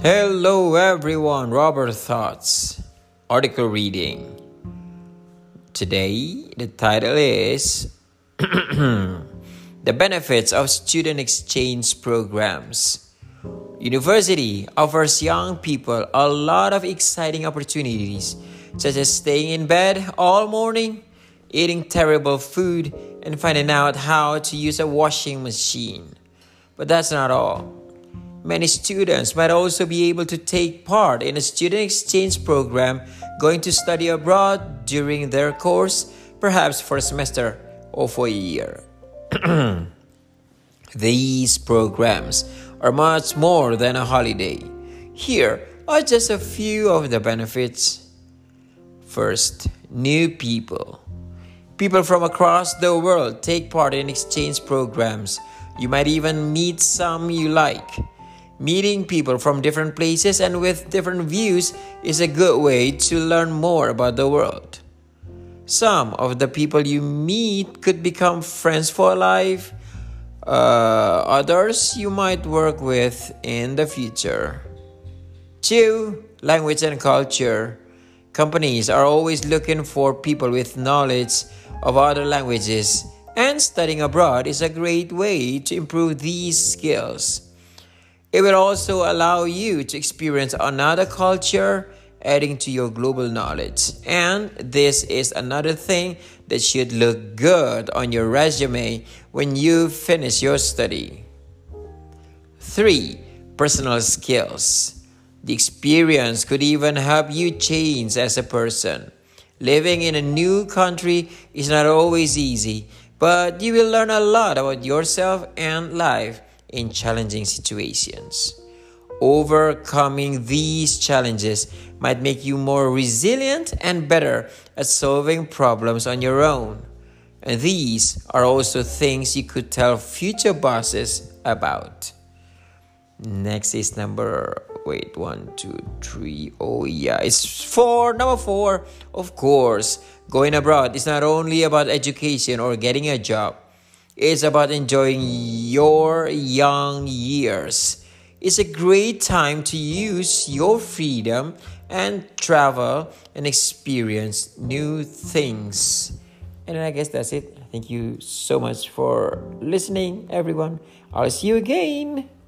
Hello everyone, Robert Thoughts. Article reading. Today, the title is The Benefits of Student Exchange Programs. University offers young people a lot of exciting opportunities, such as staying in bed all morning, eating terrible food, and finding out how to use a washing machine. But that's not all. Many students might also be able to take part in a student exchange program going to study abroad during their course, perhaps for a semester or for a year. These programs are much more than a holiday. Here are just a few of the benefits. First, new people. People from across the world take part in exchange programs. You might even meet some you like. Meeting people from different places and with different views is a good way to learn more about the world. Some of the people you meet could become friends for life. Others you might work with in the future. 2. Language and culture. Companies are always looking for people with knowledge of other languages, and studying abroad is a great way to improve these skills. It will also allow you to experience another culture, adding to your global knowledge. And this is another thing that should look good on your resume when you finish your study. 3. Personal skills. The experience could even help you change as a person. Living in a new country is not always easy, but you will learn a lot about yourself and life in challenging situations. Overcoming these challenges might make you more resilient and better at solving problems on your own. And these are also things you could tell future bosses about. Next is number 4. Number 4, of course, going abroad is not only about education or getting a job. It's about enjoying your young years. It's a great time to use your freedom and travel and experience new things. And I guess that's it. Thank you so much for listening, everyone. I'll see you again.